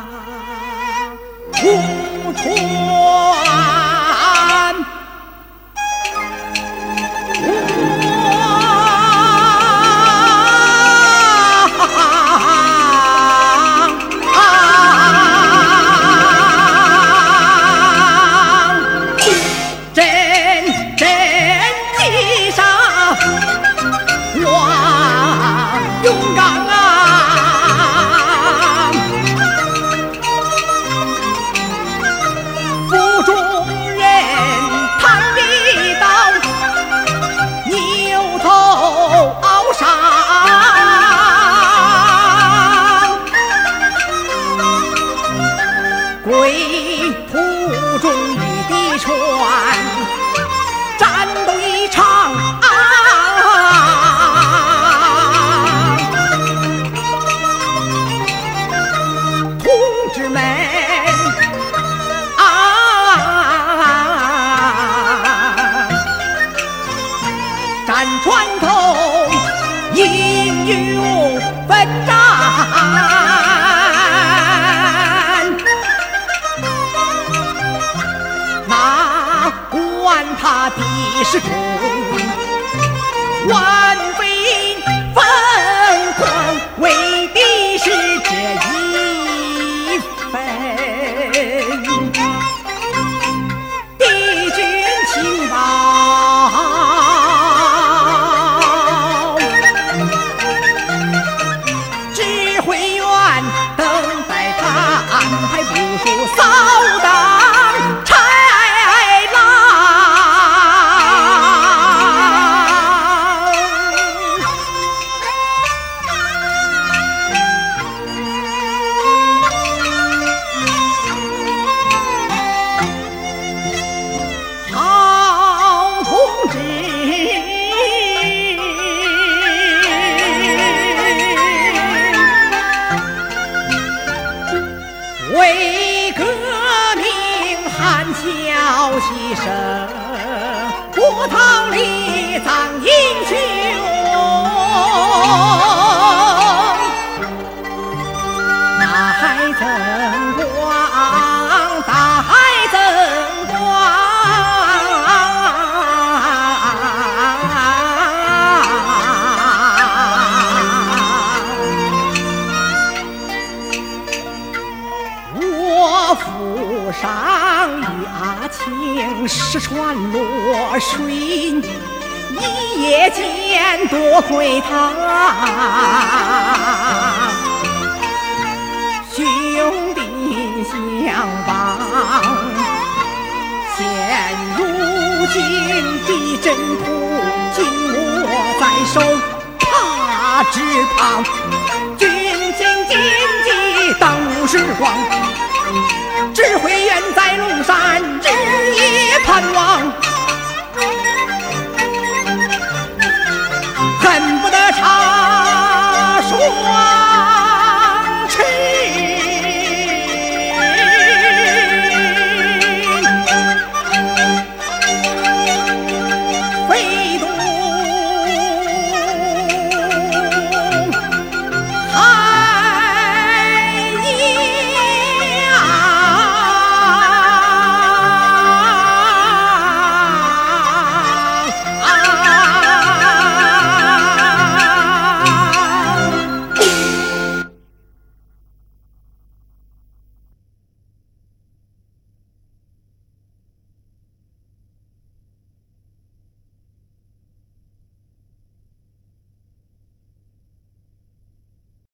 无传。归途中遇敌船，战斗一场同志们战船头英勇奋战，他的是中万分疯狂，为的是这一份敌军情报。指挥员等待他安排部署扫荡为革命喊叫牺牲，波涛里葬英雄。大海增光，大海增光，我府上与阿庆失船落水，一夜间多亏他，兄弟相帮。现如今的阵图紧握在手，怕只怕军情紧急当时光。指挥员在龙山日夜盼望。